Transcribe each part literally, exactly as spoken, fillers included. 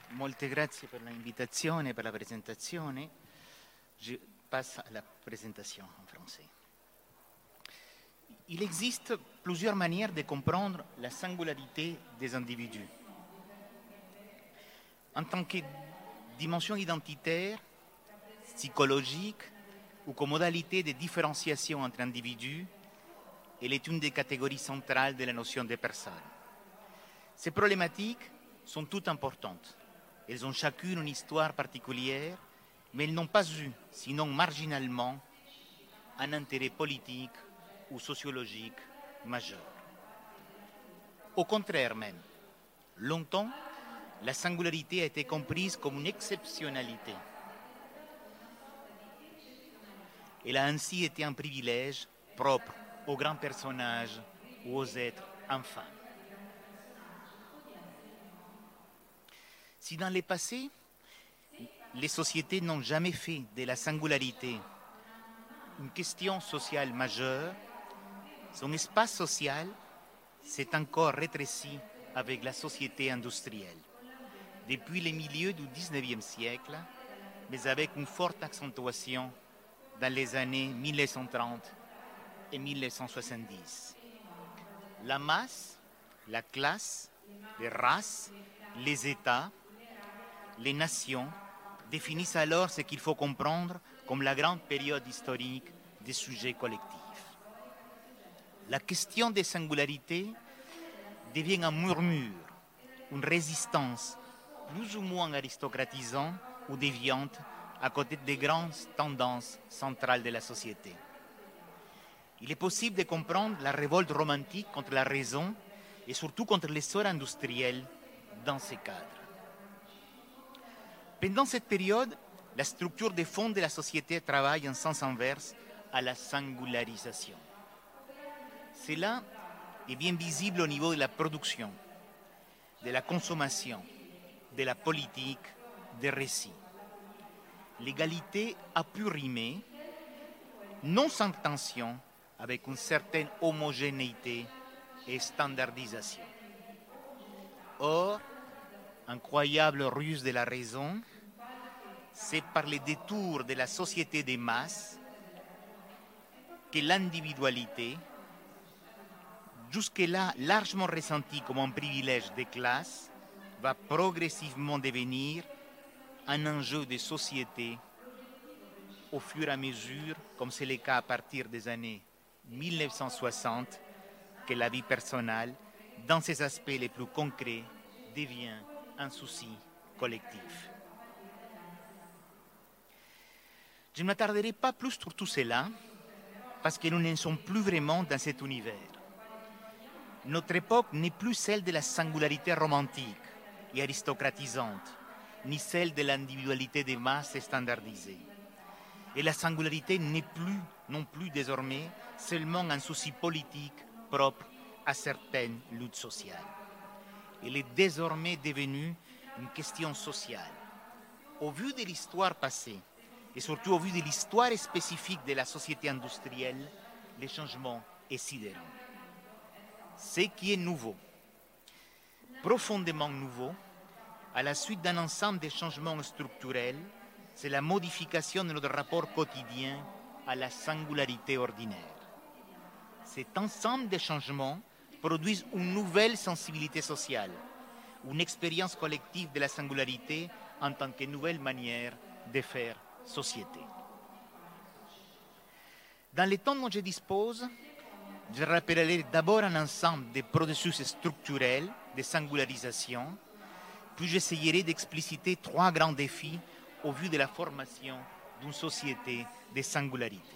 Molte grazie per l'invitazione, per la presentazione. Je passe à la présentation en français. Il existe plusieurs manières de comprendre la singularité des individus. En tant que dimension identitaire, psychologique ou comme modalité de différenciation entre individus, elle est une des catégories centrales de la notion de personne. Ces problématiques sont toutes importantes. Elles ont chacune une histoire particulière, mais elles n'ont pas eu, sinon marginalement, un intérêt politique ou sociologique majeur. Au contraire même, longtemps, la singularité a été comprise comme une exceptionnalité. Elle a ainsi été un privilège propre aux grands personnages ou aux êtres infâmes. Si dans le passé, les sociétés n'ont jamais fait de la singularité une question sociale majeure, son espace social s'est encore rétréci avec la société industrielle. Depuis les milieux du dix-neuvième siècle, mais avec une forte accentuation dans les années mille neuf cent trente et mille neuf cent soixante-dix. La masse, la classe, les races, les États, les nations définissent alors ce qu'il faut comprendre comme la grande période historique des sujets collectifs. La question des singularités devient un murmure, une résistance plus ou moins aristocratisante ou déviante à côté des grandes tendances centrales de la société. Il est possible de comprendre la révolte romantique contre la raison et surtout contre l'essor industriel dans ces cadres. Pendant cette période, la structure de fond de la société travaille en sens inverse à la singularisation. Cela est bien visible au niveau de la production, de la consommation, de la politique, des récits. L'égalité a pu rimer, non sans tension, avec une certaine homogénéité et standardisation. Or, incroyable ruse de la raison, c'est par les détours de la société des masses que l'individualité, jusque-là largement ressentie comme un privilège des classes, va progressivement devenir un enjeu de société au fur et à mesure, comme c'est le cas à partir des années mille neuf cent soixante, que la vie personnelle, dans ses aspects les plus concrets, devient un souci collectif. Je ne m'attarderai pas plus sur tout cela, parce que nous ne sommes plus vraiment dans cet univers. Notre époque n'est plus celle de la singularité romantique et aristocratisante, ni celle de l'individualité des masses standardisée. Et la singularité n'est plus, non plus désormais, seulement un souci politique propre à certaines luttes sociales. Elle est désormais devenue une question sociale. Au vu de l'histoire passée, et surtout au vu de l'histoire spécifique de la société industrielle, le changement est sidérant. Ce qui est nouveau, profondément nouveau, à la suite d'un ensemble de changements structurels, c'est la modification de notre rapport quotidien à la singularité ordinaire. Cet ensemble de changements produisent une nouvelle sensibilité sociale, une expérience collective de la singularité en tant que nouvelle manière de faire société. Dans le temps dont je dispose, je rappellerai d'abord un ensemble de processus structurels de singularisation, puis j'essayerai d'expliciter trois grands défis au vu de la formation d'une société de singularité.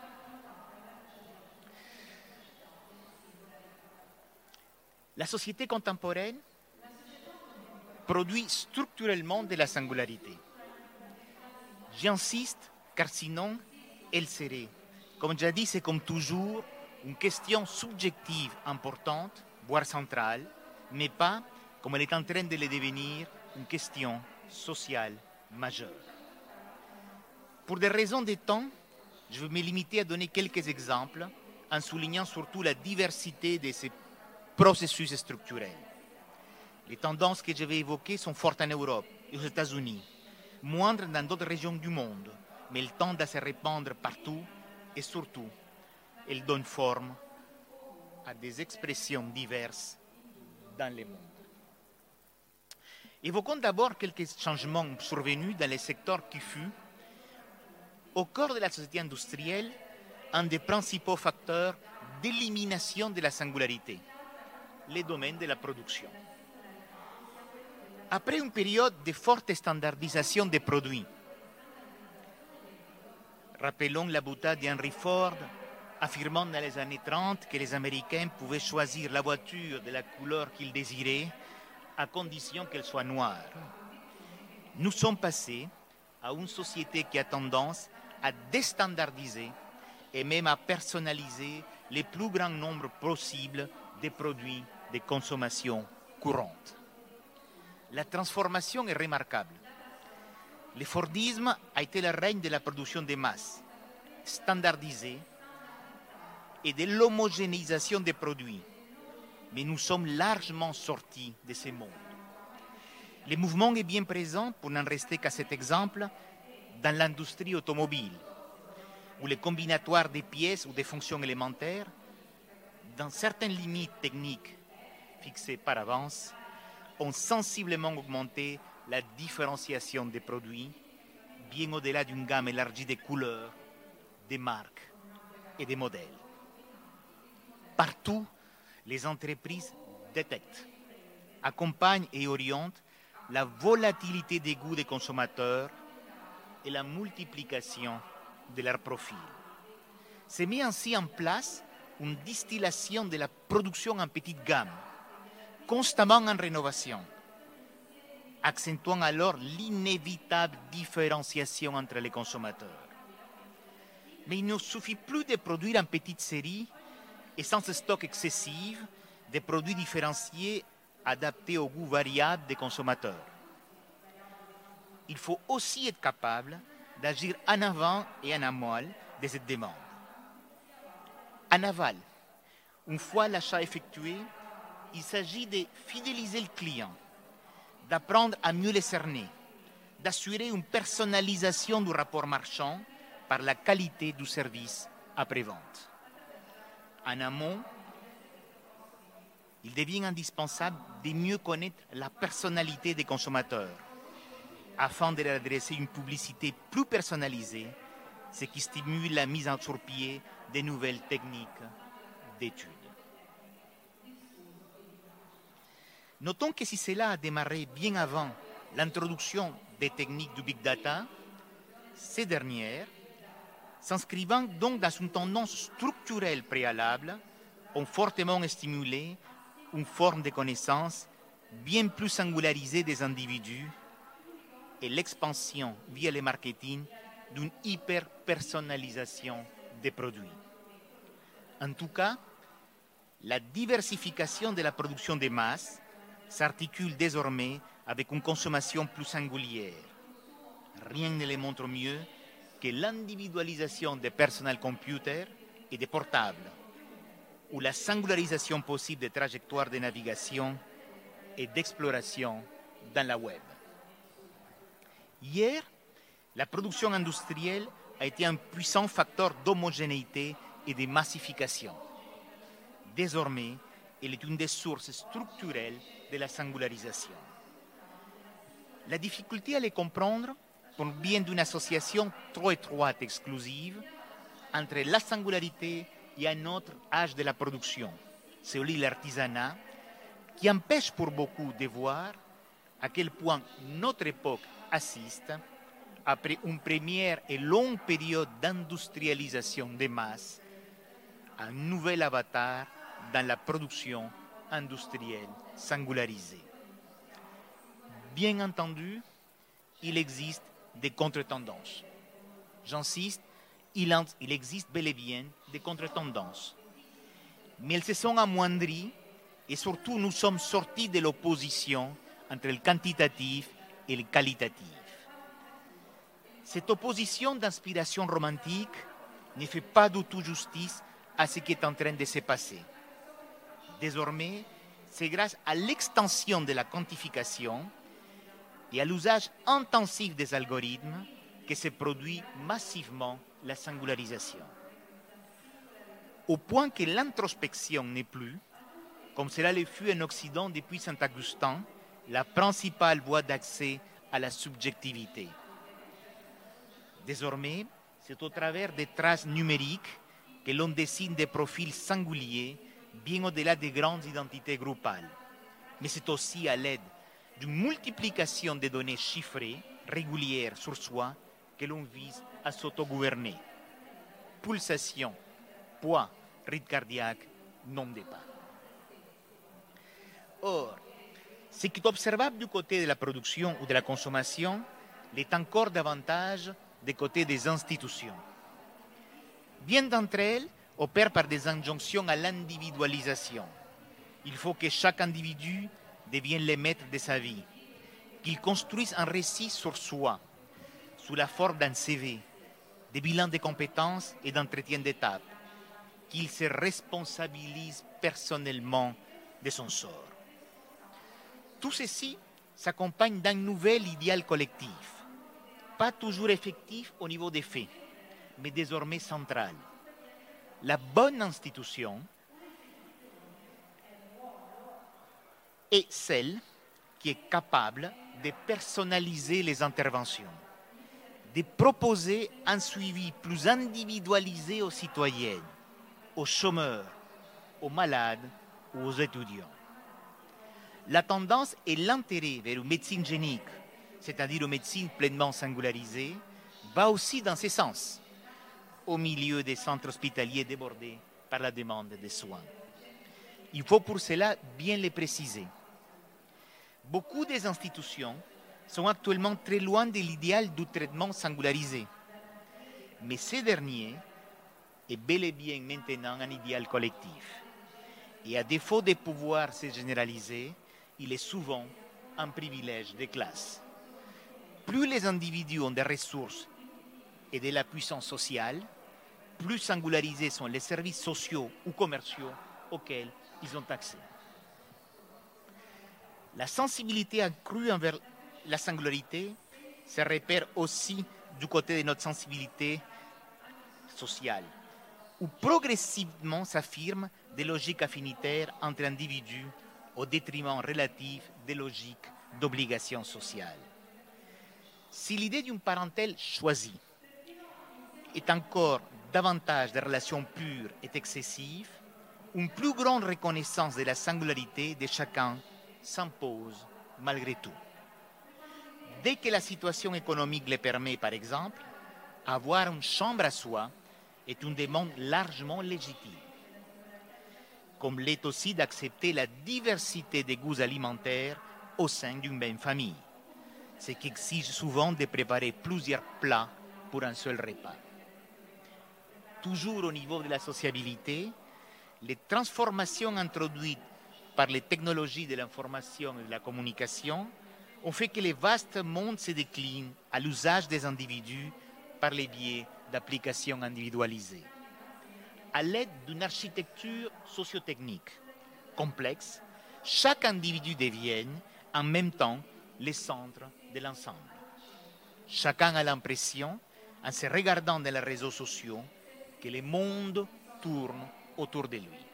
La société contemporaine produit structurellement de la singularité. J'insiste, car sinon, elle serait, comme jadis et comme toujours, une question subjective importante, voire centrale, mais pas, comme elle est en train de le devenir, une question sociale majeure. Pour des raisons de temps, je vais me limiter à donner quelques exemples, en soulignant surtout la diversité de ces processus structurels. Les tendances que je vais évoquer sont fortes en Europe et aux États-Unis, moindre dans d'autres régions du monde, mais elle tend à se répandre partout et surtout, elle donne forme à des expressions diverses dans le monde. Évoquons d'abord quelques changements survenus dans les secteurs qui fut, au cœur de la société industrielle, un des principaux facteurs d'élimination de la singularité, les domaines de la production. Après une période de forte standardisation des produits, rappelons la boutade d'Henry Ford affirmant dans les années trente que les Américains pouvaient choisir la voiture de la couleur qu'ils désiraient à condition qu'elle soit noire. Nous sommes passés à une société qui a tendance à déstandardiser et même à personnaliser le plus grand nombre possible des produits de consommation courante. La transformation est remarquable. Le Fordisme a été le règne de la production de masse, standardisée, et de l'homogénéisation des produits. Mais nous sommes largement sortis de ce monde. Le mouvement est bien présent, pour n'en rester qu'à cet exemple, dans l'industrie automobile, où les combinatoires des pièces ou des fonctions élémentaires, dans certaines limites techniques fixées par avance, ont sensiblement augmenté la différenciation des produits, bien au-delà d'une gamme élargie des couleurs, des marques et des modèles. Partout, les entreprises détectent, accompagnent et orientent la volatilité des goûts des consommateurs et la multiplication de leurs profils. C'est mis ainsi en place une distillation de la production en petite gamme, constamment en rénovation, accentuant alors l'inévitable différenciation entre les consommateurs. Mais il ne suffit plus de produire en petite série et sans stock excessif des produits différenciés adaptés aux goûts variables des consommateurs. Il faut aussi être capable d'agir en avant et en amont de cette demande. En aval, une fois l'achat effectué, il s'agit de fidéliser le client, d'apprendre à mieux le cerner, d'assurer une personnalisation du rapport marchand par la qualité du service après-vente. En amont, il devient indispensable de mieux connaître la personnalité des consommateurs afin de leur adresser une publicité plus personnalisée, ce qui stimule la mise en sur pied de nouvelles techniques d'études. Notons que si cela a démarré bien avant l'introduction des techniques du Big Data, ces dernières, s'inscrivant donc dans une tendance structurelle préalable, ont fortement stimulé une forme de connaissance bien plus singularisée des individus et l'expansion via le marketing d'une hyper-personnalisation des produits. En tout cas, la diversification de la production de masse s'articule désormais avec une consommation plus singulière. Rien ne le montre mieux que l'individualisation des personal computers et des portables, ou la singularisation possible des trajectoires de navigation et d'exploration dans la web. Hier, la production industrielle a été un puissant facteur d'homogénéité et de massification. Désormais, elle est une des sources structurelles de la singularisation. La difficulté à les comprendre provient d'une association trop étroite et exclusive entre la singularité et un autre âge de la production, celui de l'artisanat, qui empêche pour beaucoup de voir à quel point notre époque assiste, après une première et longue période d'industrialisation des masses, à un nouvel avatar dans la production industrielle singularisée. Bien entendu, il existe des contre-tendances. J'insiste, il, en, il existe bel et bien des contre-tendances. Mais elles se sont amoindries et surtout nous sommes sortis de l'opposition entre le quantitatif et le qualitatif. Cette opposition d'inspiration romantique ne fait pas du tout justice à ce qui est en train de se passer. Désormais, c'est grâce à l'extension de la quantification et à l'usage intensif des algorithmes que se produit massivement la singularisation. Au point que l'introspection n'est plus, comme cela le fut en Occident depuis Saint-Augustin, la principale voie d'accès à la subjectivité. Désormais, c'est au travers des traces numériques que l'on dessine des profils singuliers bien au-delà des grandes identités groupales. Mais c'est aussi à l'aide d'une multiplication des données chiffrées, régulières sur soi, que l'on vise à s'autogouverner. Pulsation, poids, rythme cardiaque, nombre de pas. Or, ce qui est observable du côté de la production ou de la consommation l'est encore davantage du côté des institutions. Bien d'entre elles opèrent par des injonctions à l'individualisation. Il faut que chaque individu devienne le maître de sa vie, qu'il construise un récit sur soi, sous la forme d'un C V, des bilans de compétences et d'entretien d'étape, qu'il se responsabilise personnellement de son sort. Tout ceci s'accompagne d'un nouvel idéal collectif, pas toujours effectif au niveau des faits, mais désormais central. La bonne institution est celle qui est capable de personnaliser les interventions, de proposer un suivi plus individualisé aux citoyennes, aux chômeurs, aux malades ou aux étudiants. La tendance et l'intérêt vers une médecine génique, c'est-à-dire une médecine pleinement singularisée, va aussi dans ce sens, au milieu des centres hospitaliers débordés par la demande de soins. Il faut pour cela bien les préciser. Beaucoup des institutions sont actuellement très loin de l'idéal du traitement singularisé, mais ce dernier est bel et bien maintenant un idéal collectif. Et à défaut de pouvoir se généraliser, il est souvent un privilège de classe. Plus les individus ont des ressources et de la puissance sociale, plus singularisés sont les services sociaux ou commerciaux auxquels ils ont accès. La sensibilité accrue envers la singularité se repère aussi du côté de notre sensibilité sociale, où progressivement s'affirment des logiques affinitaires entre individus au détriment relatif des logiques d'obligation sociale. Si l'idée d'une parentèle choisie est encore davantage de relations pures et excessives, une plus grande reconnaissance de la singularité de chacun s'impose malgré tout. Dès que la situation économique le permet, par exemple, avoir une chambre à soi est une demande largement légitime, comme l'est aussi d'accepter la diversité des goûts alimentaires au sein d'une même famille, ce qui exige souvent de préparer plusieurs plats pour un seul repas. Toujours au niveau de la sociabilité, les transformations introduites par les technologies de l'information et de la communication ont fait que les vastes mondes se déclinent à l'usage des individus par les biais d'applications individualisées. À l'aide d'une architecture sociotechnique complexe, chaque individu devient en même temps le centre de l'ensemble. Chacun a l'impression, en se regardant dans les réseaux sociaux, que le monde tourne autour de lui.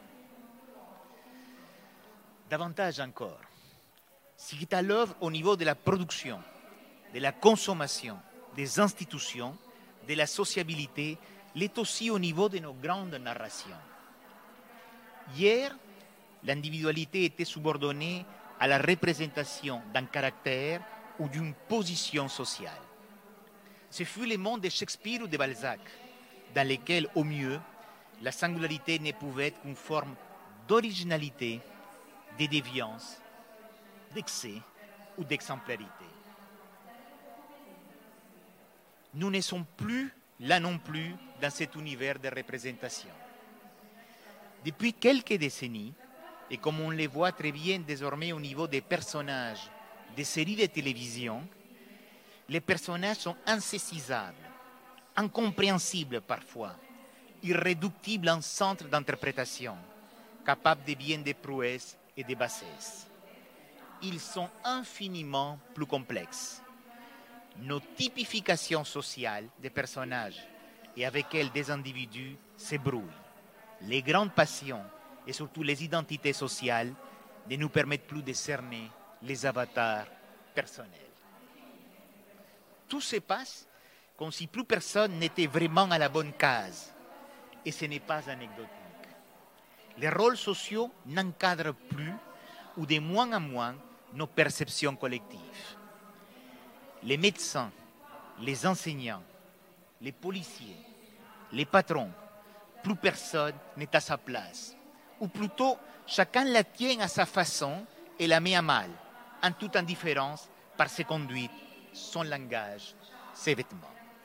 Davantage encore, ce qui est à l'œuvre au niveau de la production, de la consommation, des institutions, de la sociabilité, l'est aussi au niveau de nos grandes narrations. Hier, l'individualité était subordonnée à la représentation d'un caractère ou d'une position sociale. Ce fut le monde de Shakespeare ou de Balzac, dans lesquels, au mieux, la singularité ne pouvait être qu'une forme d'originalité, de déviance, d'excès ou d'exemplarité. Nous ne sommes plus, là non plus, dans cet univers de représentation. Depuis quelques décennies, et comme on le voit très bien désormais au niveau des personnages des séries de télévision, les personnages sont insaisissables, incompréhensibles parfois, irréductibles en centre d'interprétation, capables de bien des prouesses et des bassesses. ils sont infiniment plus complexes. Nos typifications sociales des personnages et avec elles des individus s'ébrouillent. Les grandes passions et surtout les identités sociales ne nous permettent plus de cerner les avatars personnels. Tout se passe comme si plus personne n'était vraiment à la bonne case. Et ce n'est pas anecdotique. Les rôles sociaux n'encadrent plus ou de moins en moins nos perceptions collectives. Les médecins, les enseignants, les policiers, les patrons, plus personne n'est à sa place. Ou plutôt, chacun la tient à sa façon et la met à mal, en toute indifférence par ses conduites, son langage, ses vêtements.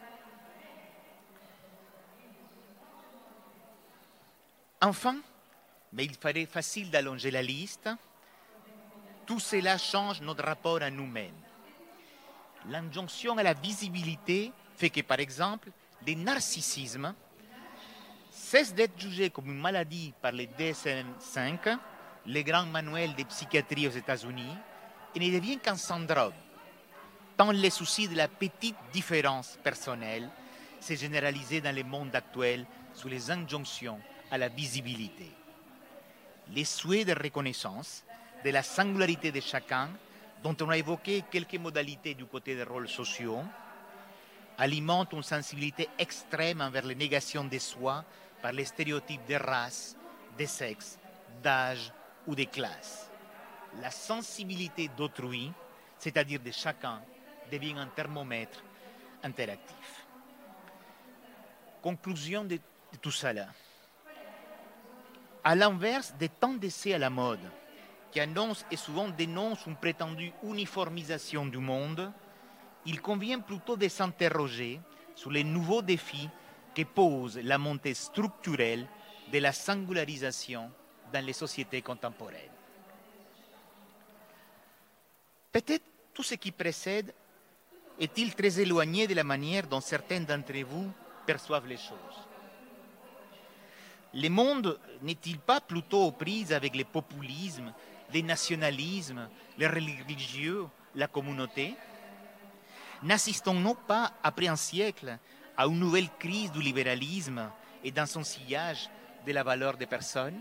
Enfin, mais il faudrait facile d'allonger la liste, tout cela change notre rapport à nous-mêmes. L'injonction à la visibilité fait que, par exemple, le narcissisme cesse d'être jugé comme une maladie par les D S M cinq, les grands manuels de psychiatrie aux États-Unis, et ne devient qu'un syndrome, tant les soucis de la petite différence personnelle s'est généralisé dans le monde actuel sous les injonctions à la visibilité. Les souhaits de reconnaissance de la singularité de chacun, dont on a évoqué quelques modalités du côté des rôles sociaux, alimentent une sensibilité extrême envers les négations de soi par les stéréotypes de race, de sexe, d'âge ou de classe. La sensibilité d'autrui, c'est-à-dire de chacun, devient un thermomètre interactif. Conclusion de, de tout cela. À l'inverse des temps d'essai à la mode, qui annoncent et souvent dénoncent une prétendue uniformisation du monde, il convient plutôt de s'interroger sur les nouveaux défis que pose la montée structurelle de la singularisation dans les sociétés contemporaines. Peut-être tout ce qui précède est-il très éloigné de la manière dont certains d'entre vous perçoivent les choses. Le monde n'est-il pas plutôt aux prises avec le populisme, les nationalismes, les religieux, la communauté? N'assistons-nous pas, après un siècle, à une nouvelle crise du libéralisme et dans son sillage de la valeur des personnes?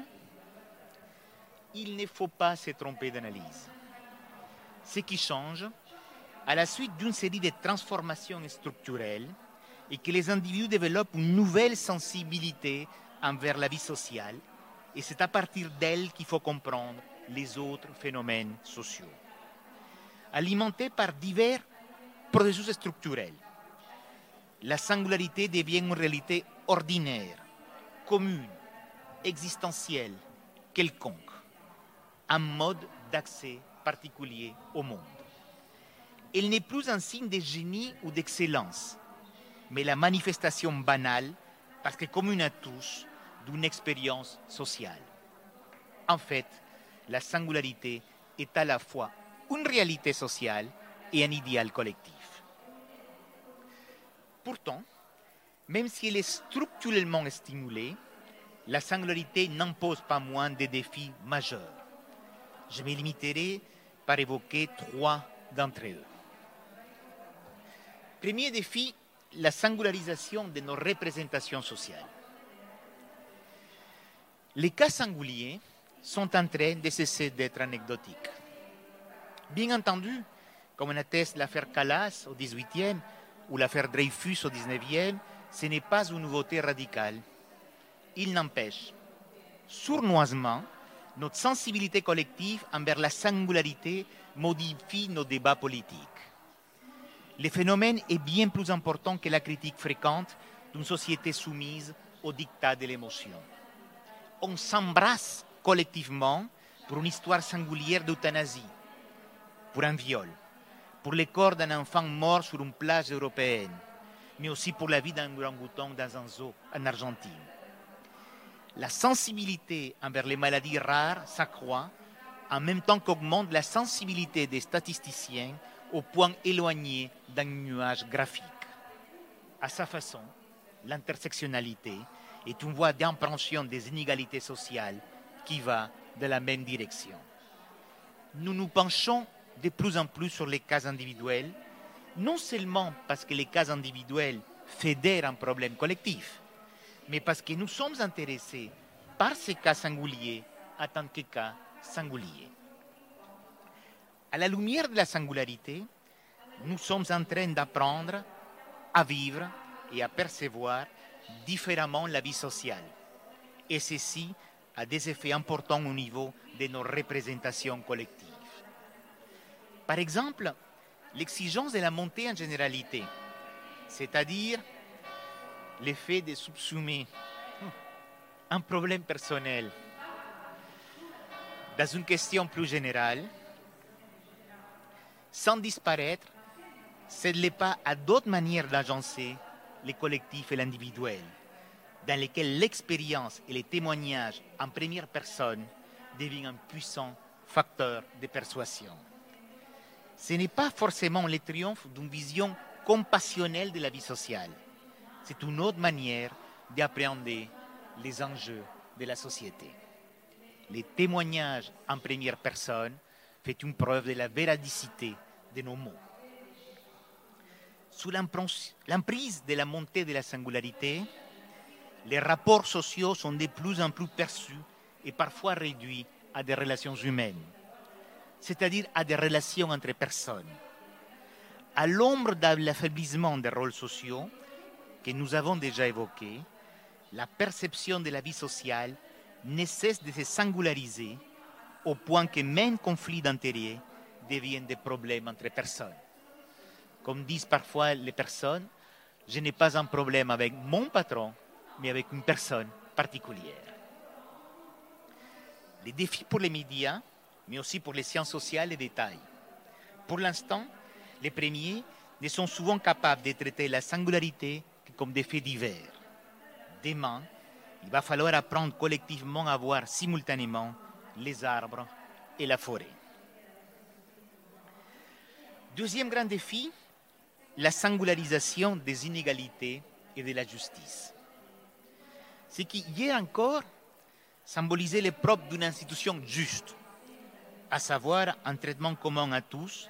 Il ne faut pas se tromper d'analyse. Ce qui change, à la suite d'une série de transformations structurelles, est que les individus développent une nouvelle sensibilité envers la vie sociale, et c'est à partir d'elle qu'il faut comprendre les autres phénomènes sociaux. Alimentés par divers processus structurels, la singularité devient une réalité ordinaire, commune, existentielle, quelconque, un mode d'accès particulier au monde. Elle n'est plus un signe de génie ou d'excellence, mais la manifestation banale, parce que commune à tous, d'une expérience sociale. En fait, la singularité est à la fois une réalité sociale et un idéal collectif. Pourtant, même si elle est structurellement stimulée, la singularité n'impose pas moins de défis majeurs. Je me limiterai par évoquer trois d'entre eux. Premier défi, la singularisation de nos représentations sociales. Les cas singuliers sont en train de cesser d'être anecdotiques. Bien entendu, comme en atteste l'affaire Calas au dix-huitième ou l'affaire Dreyfus au dix-neuvième, ce n'est pas une nouveauté radicale. Il n'empêche, sournoisement, notre sensibilité collective envers la singularité modifie nos débats politiques. Le phénomène est bien plus important que la critique fréquente d'une société soumise au diktat de l'émotion. On s'embrasse collectivement pour une histoire singulière d'euthanasie, pour un viol, pour le corps d'un enfant mort sur une plage européenne, mais aussi pour la vie d'un orang-outan dans un zoo en Argentine. La sensibilité envers les maladies rares s'accroît en même temps qu'augmente la sensibilité des statisticiens au point éloigné d'un nuage graphique. À sa façon, l'intersectionnalité est une voie d'appréhension des inégalités sociales qui va de la même direction. nous nous penchons de plus en plus sur les cas individuels, non seulement parce que les cas individuels fédèrent un problème collectif, mais parce que nous sommes intéressés par ces cas singuliers en tant que cas singuliers. À la lumière de la singularité, nous sommes en train d'apprendre à vivre et à percevoir différemment la vie sociale. Et ceci a des effets importants au niveau de nos représentations collectives. Par exemple, l'exigence de la montée en généralité, c'est-à-dire l'effet de subsumer un problème personnel dans une question plus générale, sans disparaître, cède pas à d'autres manières d'agencer les collectifs et l'individuel, dans lesquels l'expérience et les témoignages en première personne deviennent un puissant facteur de persuasion. Ce n'est pas forcément le triomphe d'une vision compassionnelle de la vie sociale. C'est une autre manière d'appréhender les enjeux de la société. Les témoignages en première personne font une preuve de la véridicité de nos mots. Sous l'emprise de la montée de la singularité, les rapports sociaux sont de plus en plus perçus et parfois réduits à des relations humaines, c'est-à-dire à des relations entre personnes. À l'ombre de l'affaiblissement des rôles sociaux que nous avons déjà évoqués, la perception de la vie sociale ne cesse de se singulariser au point que même conflits d'intérêts deviennent des problèmes entre personnes. Comme disent parfois les personnes, je n'ai pas un problème avec mon patron, mais avec une personne particulière. Les défis pour les médias, mais aussi pour les sciences sociales et détails. Pour l'instant, les premiers ne sont souvent capables de traiter la singularité que comme des faits divers. Demain, il va falloir apprendre collectivement à voir simultanément les arbres et la forêt. Deuxième grand défi, la singularisation des inégalités et de la justice. Ce qui, hier encore, symbolisait le propre d'une institution juste, à savoir un traitement commun à tous,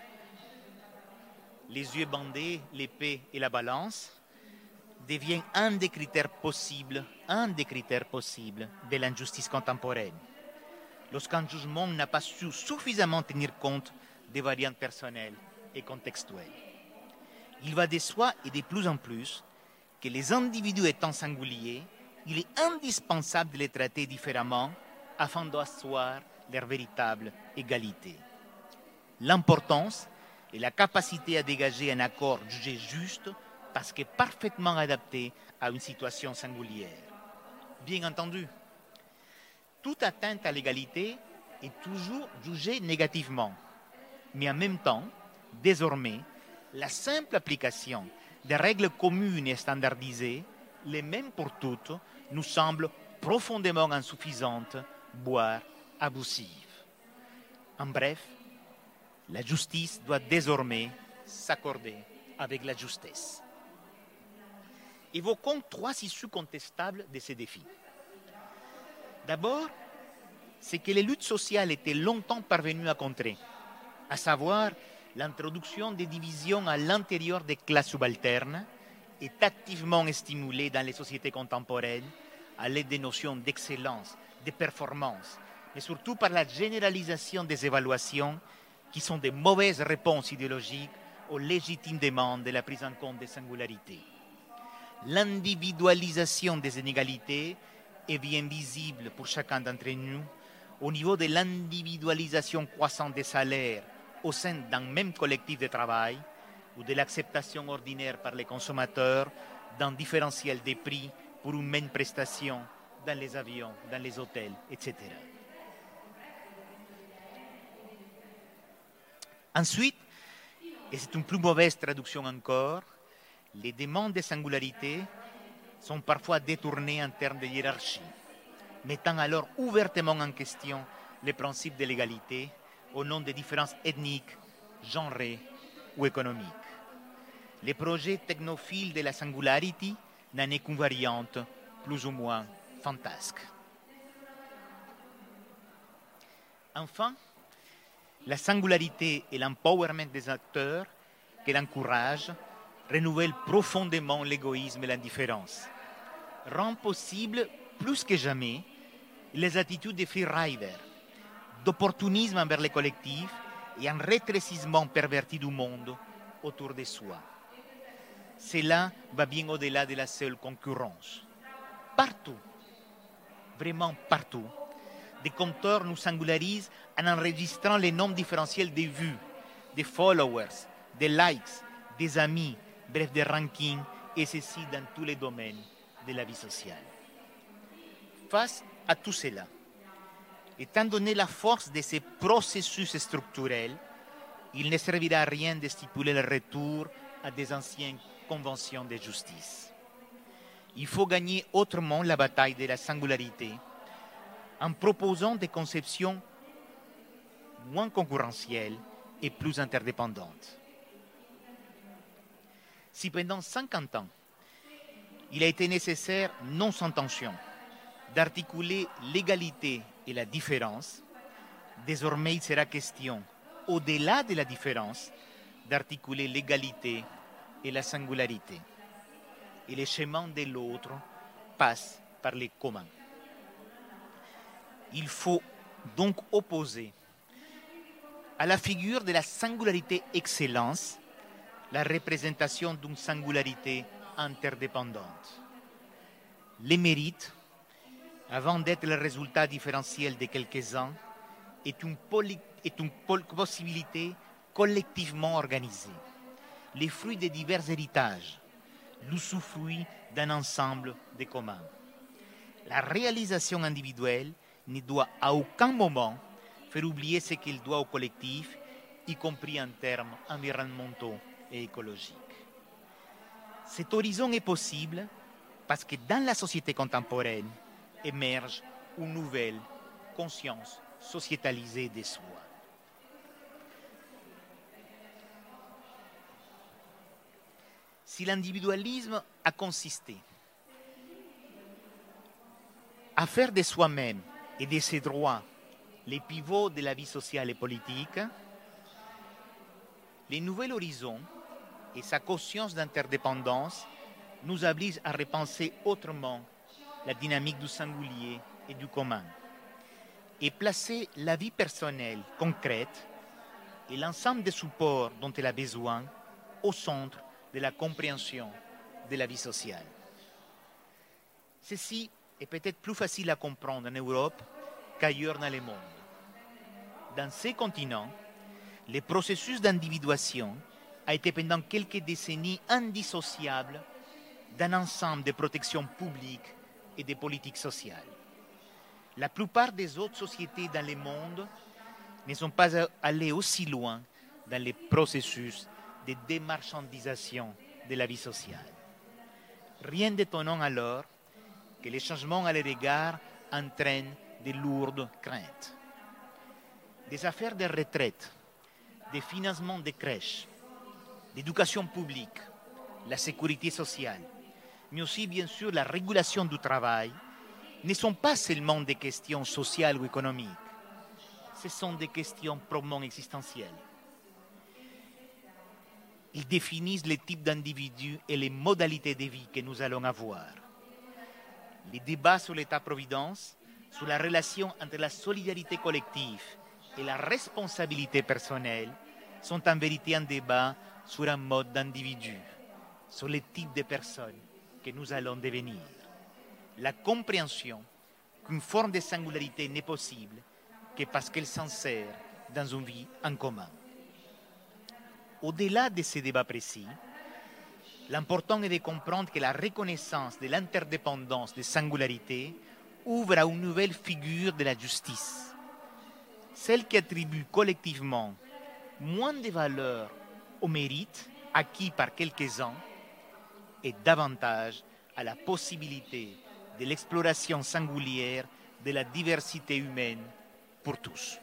les yeux bandés, l'épée et la balance, devient un des critères possibles, un des critères possibles de l'injustice contemporaine, lorsqu'un jugement n'a pas su suffisamment tenir compte des variantes personnelles et contextuelles. Il va de soi et de plus en plus que les individus étant singuliers, il est indispensable de les traiter différemment afin d'asseoir leur véritable égalité. L'importance et la capacité à dégager un accord jugé juste parce que parfaitement adapté à une situation singulière. Bien entendu, toute atteinte à l'égalité est toujours jugée négativement, mais en même temps, désormais, la simple application des règles communes et standardisées, les mêmes pour toutes, nous semble profondément insuffisante, voire abusive. En bref, la justice doit désormais s'accorder avec la justesse. Évoquons trois issues contestables de ces défis. D'abord, c'est que les luttes sociales étaient longtemps parvenues à contrer, à savoir l'introduction des divisions à l'intérieur des classes subalternes est activement stimulée dans les sociétés contemporaines à l'aide des notions d'excellence, de performance, mais surtout par la généralisation des évaluations qui sont de mauvaises réponses idéologiques aux légitimes demandes de la prise en compte des singularités. L'individualisation des inégalités est bien visible pour chacun d'entre nous au niveau de l'individualisation croissante des salaires au sein d'un même collectif de travail ou de l'acceptation ordinaire par les consommateurs d'un différentiel des prix pour une même prestation dans les avions, dans les hôtels, et cetera. Ensuite, et c'est une plus mauvaise traduction encore, les demandes de singularité sont parfois détournées en termes de hiérarchie, mettant alors ouvertement en question les principes de l'égalité au nom des différences ethniques, genrées ou économiques. Les projets technophiles de la singularity n'en est qu'une variante plus ou moins fantasque. Enfin, La singularité et l'empowerment des acteurs qu'elle encourage renouvellent profondément l'égoïsme et l'indifférence, rend possible plus que jamais les attitudes des freeriders, d'opportunisme envers les collectifs et un rétrécissement perverti du monde autour de soi. Cela va bien au-delà de la seule concurrence. Partout, vraiment partout, des compteurs nous singularisent en enregistrant les nombres différentiels des vues, des followers, des likes, des amis, bref des rankings, et ceci dans tous les domaines de la vie sociale. Face à tout cela, étant donné la force de ces processus structurels, il ne servira à rien de stipuler le retour à des anciennes conventions de justice. Il faut gagner autrement la bataille de la singularité en proposant des conceptions moins concurrentielles et plus interdépendantes. Si pendant cinquante ans, il a été nécessaire, non sans tension, d'articuler l'égalité et la différence, désormais il sera question, au-delà de la différence, d'articuler l'égalité et la singularité. Et le chemin de l'autre passe par les communs. Il faut donc opposer à la figure de la singularité excellence la représentation d'une singularité interdépendante. Les mérites, avant d'être le résultat différentiel de quelques-uns, est une, poli- est une pol- possibilité collectivement organisée, les fruits de divers héritages, l'usufruit d'un ensemble de communs. La réalisation individuelle ne doit à aucun moment faire oublier ce qu'il doit au collectif, y compris en termes environnementaux et écologiques. Cet horizon est possible parce que dans la société contemporaine émerge une nouvelle conscience sociétalisée de soi. Si l'individualisme a consisté à faire de soi-même et de ses droits les pivots de la vie sociale et politique, les nouveaux horizons et sa conscience d'interdépendance nous obligent à repenser autrement la dynamique du singulier et du commun et placer la vie personnelle concrète et l'ensemble des supports dont elle a besoin au centre de la compréhension de la vie sociale. Ceci est peut-être plus facile à comprendre en Europe qu'ailleurs dans le monde. Dans ces continents, le processus d'individuation a été pendant quelques décennies indissociable d'un ensemble de protections publiques et de politiques sociales. La plupart des autres sociétés dans le monde ne sont pas allées aussi loin dans les processus de démarchandisation de la vie sociale. Rien d'étonnant alors que les changements à leur égard entraînent de lourdes craintes. Des affaires de retraite, des financements de crèches, l'éducation publique, la sécurité sociale, mais aussi bien sûr la régulation du travail, ne sont pas seulement des questions sociales ou économiques, ce sont des questions proprement existentielles. Ils définissent les types d'individus et les modalités de vie que nous allons avoir. Les débats sur l'État-providence, sur la relation entre la solidarité collective et la responsabilité personnelle, sont en vérité un débat sur un mode d'individu, sur les types de personnes que nous allons devenir. La compréhension qu'une forme de singularité n'est possible que parce qu'elle s'insère dans une vie en commun. Au-delà de ces débats précis, l'important est de comprendre que la reconnaissance de l'interdépendance des singularités ouvre à une nouvelle figure de la justice, celle qui attribue collectivement moins de valeur au mérite acquis par quelques-uns et davantage à la possibilité de l'exploration singulière de la diversité humaine pour tous.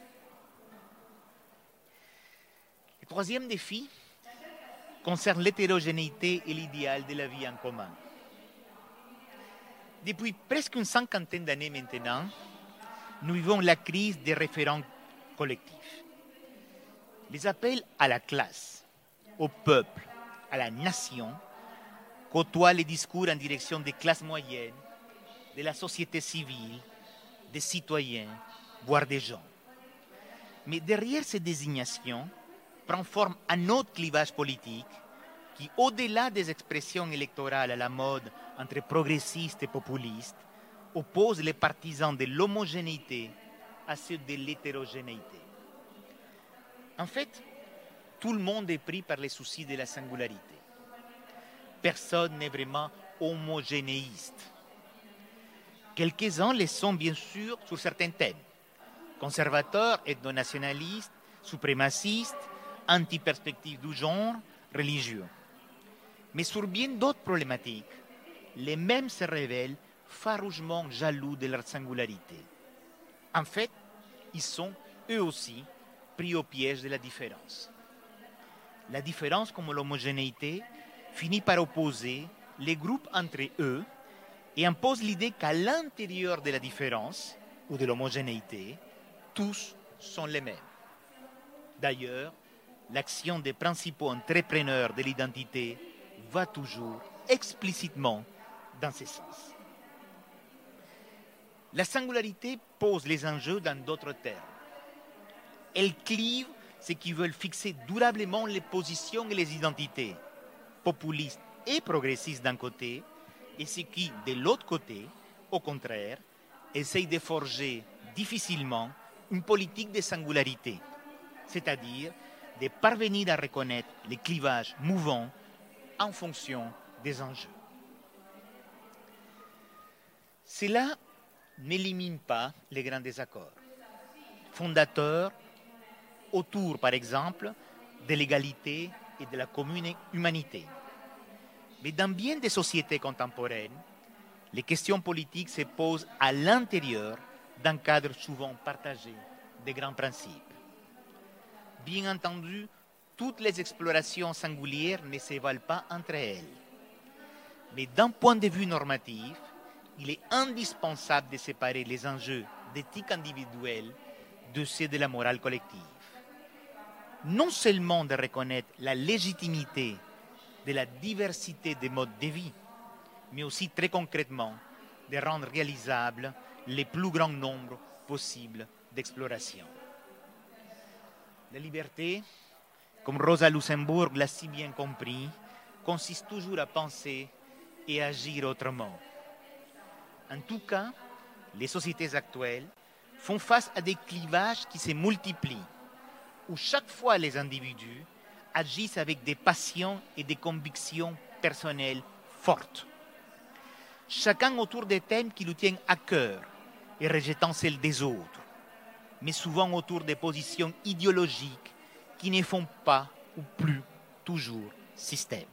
Le troisième défi concerne l'hétérogénéité et l'idéal de la vie en commun. Depuis presque une cinquantaine d'années maintenant, nous vivons la crise des référents collectifs. Les appels à la classe, au peuple, à la nation côtoient les discours en direction des classes moyennes, de la société civile, des citoyens, voire des gens. Mais derrière ces désignations prend forme un autre clivage politique qui, au-delà des expressions électorales à la mode entre progressistes et populistes, oppose les partisans de l'homogénéité à ceux de l'hétérogénéité. En fait, tout le monde est pris par les soucis de la singularité. Personne n'est vraiment homogénéiste. Quelques-uns le sont bien sûr sur certains thèmes. Conservateurs, ethno-nationalistes, suprémacistes, anti-perspectives du genre, religieux. Mais sur bien d'autres problématiques, les mêmes se révèlent farouchement jaloux de leur singularité. En fait, ils sont, eux aussi, pris au piège de la différence. La différence, comme l'homogénéité, finit par opposer les groupes entre eux et impose l'idée qu'à l'intérieur de la différence ou de l'homogénéité, tous sont les mêmes. D'ailleurs, l'action des principaux entrepreneurs de l'identité va toujours explicitement dans ce sens. La singularité pose les enjeux dans d'autres termes. Elle clive ceux qui veulent fixer durablement les positions et les identités, populistes et progressistes d'un côté, et ceux qui, de l'autre côté, au contraire, essayent de forger difficilement une politique de singularité, c'est-à-dire de parvenir à reconnaître les clivages mouvants en fonction des enjeux. Cela n'élimine pas les grands désaccords, fondateurs autour, par exemple, de l'égalité et de la commune humanité. Mais dans bien des sociétés contemporaines, les questions politiques se posent à l'intérieur d'un cadre souvent partagé des grands principes. Bien entendu, toutes les explorations singulières ne se valent pas entre elles. Mais d'un point de vue normatif, il est indispensable de séparer les enjeux d'éthique individuelle de ceux de la morale collective. Non seulement de reconnaître la légitimité de la diversité des modes de vie, mais aussi très concrètement de rendre réalisable le plus grand nombre possible d'explorations. La liberté, comme Rosa Luxemburg l'a si bien compris, consiste toujours à penser et agir autrement. En tout cas, les sociétés actuelles font face à des clivages qui se multiplient, où chaque fois les individus agissent avec des passions et des convictions personnelles fortes. Chacun autour des thèmes qui lui tiennent à cœur et rejetant celles des autres, mais souvent autour des positions idéologiques qui ne font pas ou plus toujours système.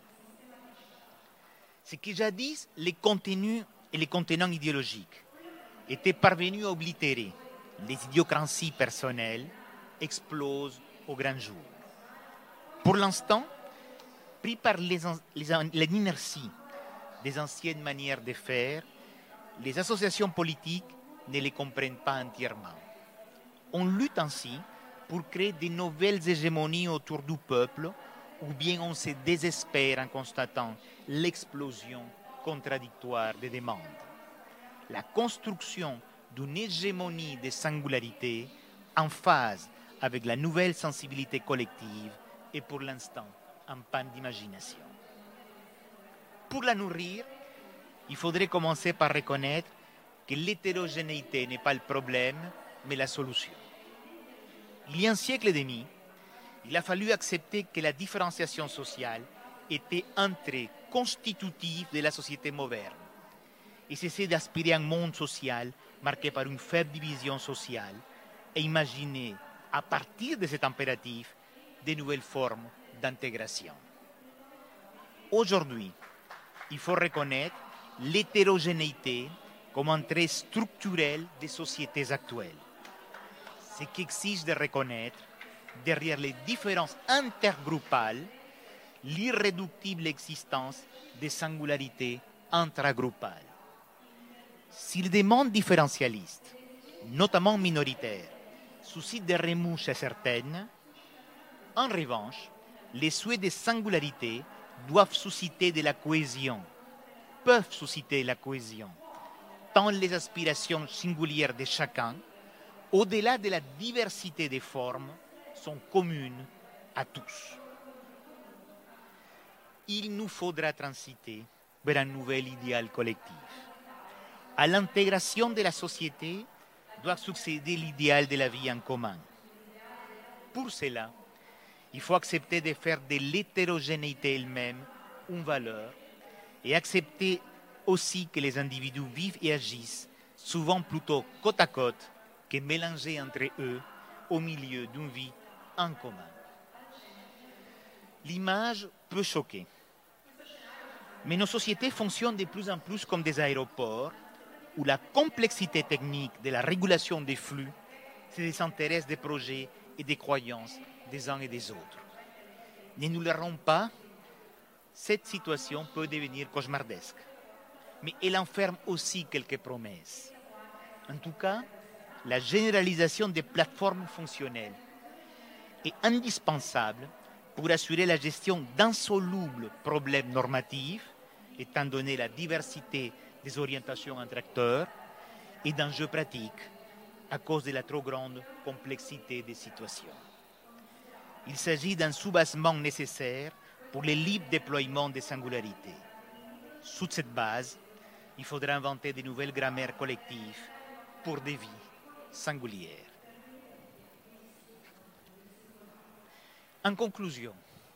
Ce qui jadis les contenus et les contenants idéologiques étaient parvenus à oblitérer les idiocraties personnelles explosent au grand jour. Pour l'instant, pris par l'inertie des anciennes manières de faire, les associations politiques ne les comprennent pas entièrement. On lutte ainsi pour créer de nouvelles hégémonies autour du peuple, ou bien on se désespère en constatant l'explosion contradictoire des demandes. La construction d'une hégémonie de singularité en phase avec la nouvelle sensibilité collective est pour l'instant en panne d'imagination. Pour la nourrir, il faudrait commencer par reconnaître que l'hétérogénéité n'est pas le problème, mais la solution. Il y a un siècle et demi, il a fallu accepter que la différenciation sociale était un trait constitutif de la société moderne et cesser d'aspirer à un monde social marqué par une faible division sociale et imaginer, à partir de cet impératif, de nouvelles formes d'intégration. Aujourd'hui, il faut reconnaître l'hétérogénéité comme un trait structurel des sociétés actuelles, ce qui exige de reconnaître, derrière les différences intergroupales, l'irréductible existence des singularités intragroupales. Si les demandes différentialistes, notamment minoritaires, suscitent des remous chez certaines, En revanche, les souhaits de singularité doivent susciter de la cohésion, peuvent susciter la cohésion, tant les aspirations singulières de chacun, au-delà de la diversité des formes, sont communes à tous. Il nous faudra transiter vers un nouvel idéal collectif. À l'intégration de la société doit succéder l'idéal de la vie en commun. Pour cela, il faut accepter de faire de l'hétérogénéité elle-même une valeur et accepter aussi que les individus vivent et agissent souvent plutôt côte à côte que mélangés entre eux au milieu d'une vie en commun. L'image peut choquer, mais nos sociétés fonctionnent de plus en plus comme des aéroports où la complexité technique de la régulation des flux se désintéresse des projets et des croyances des uns et des autres. Ne nous leurrons pas, cette situation peut devenir cauchemardesque, mais elle enferme aussi quelques promesses. En tout cas, la généralisation des plateformes fonctionnelles est indispensable pour assurer la gestion d'insolubles problèmes normatifs, étant donné la diversité des orientations entre acteurs et d'enjeux pratiques à cause de la trop grande complexité des situations. Il s'agit d'un soubassement nécessaire pour le libre déploiement des singularités. Sous cette base, il faudra inventer de nouvelles grammaires collectives pour des vies singulières. En conclusion,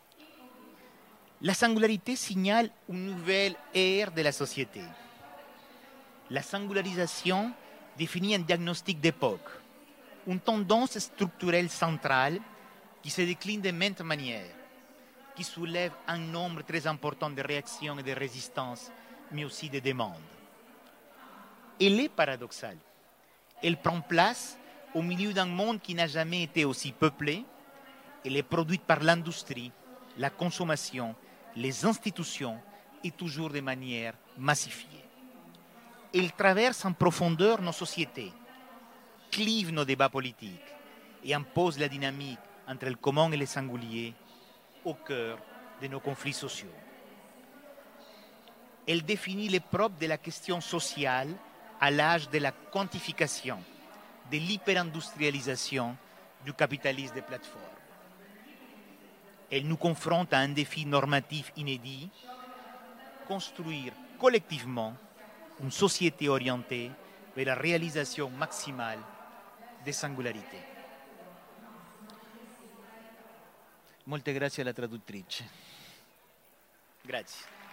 la singularité signale une nouvelle ère de la société. La singularisation définit un diagnostic d'époque, une tendance structurelle centrale qui se décline de maintes manières, qui soulève un nombre très important de réactions et de résistances, mais aussi de demandes. Elle est paradoxale. Elle prend place au milieu d'un monde qui n'a jamais été aussi peuplé. Elle est produite par l'industrie, la consommation, les institutions et toujours de manière massifiée. Elle traverse en profondeur nos sociétés, clive nos débats politiques et impose la dynamique entre le commun et le singulier au cœur de nos conflits sociaux. Elle définit les propres de la question sociale à l'âge de la quantification, de l'hyperindustrialisation du capitalisme des plateformes. Elle nous confronte à un défi normatif inédit, construire collectivement une société orientée vers la réalisation maximale des singolarités. Molte grazie alla traduttrice. Grazie.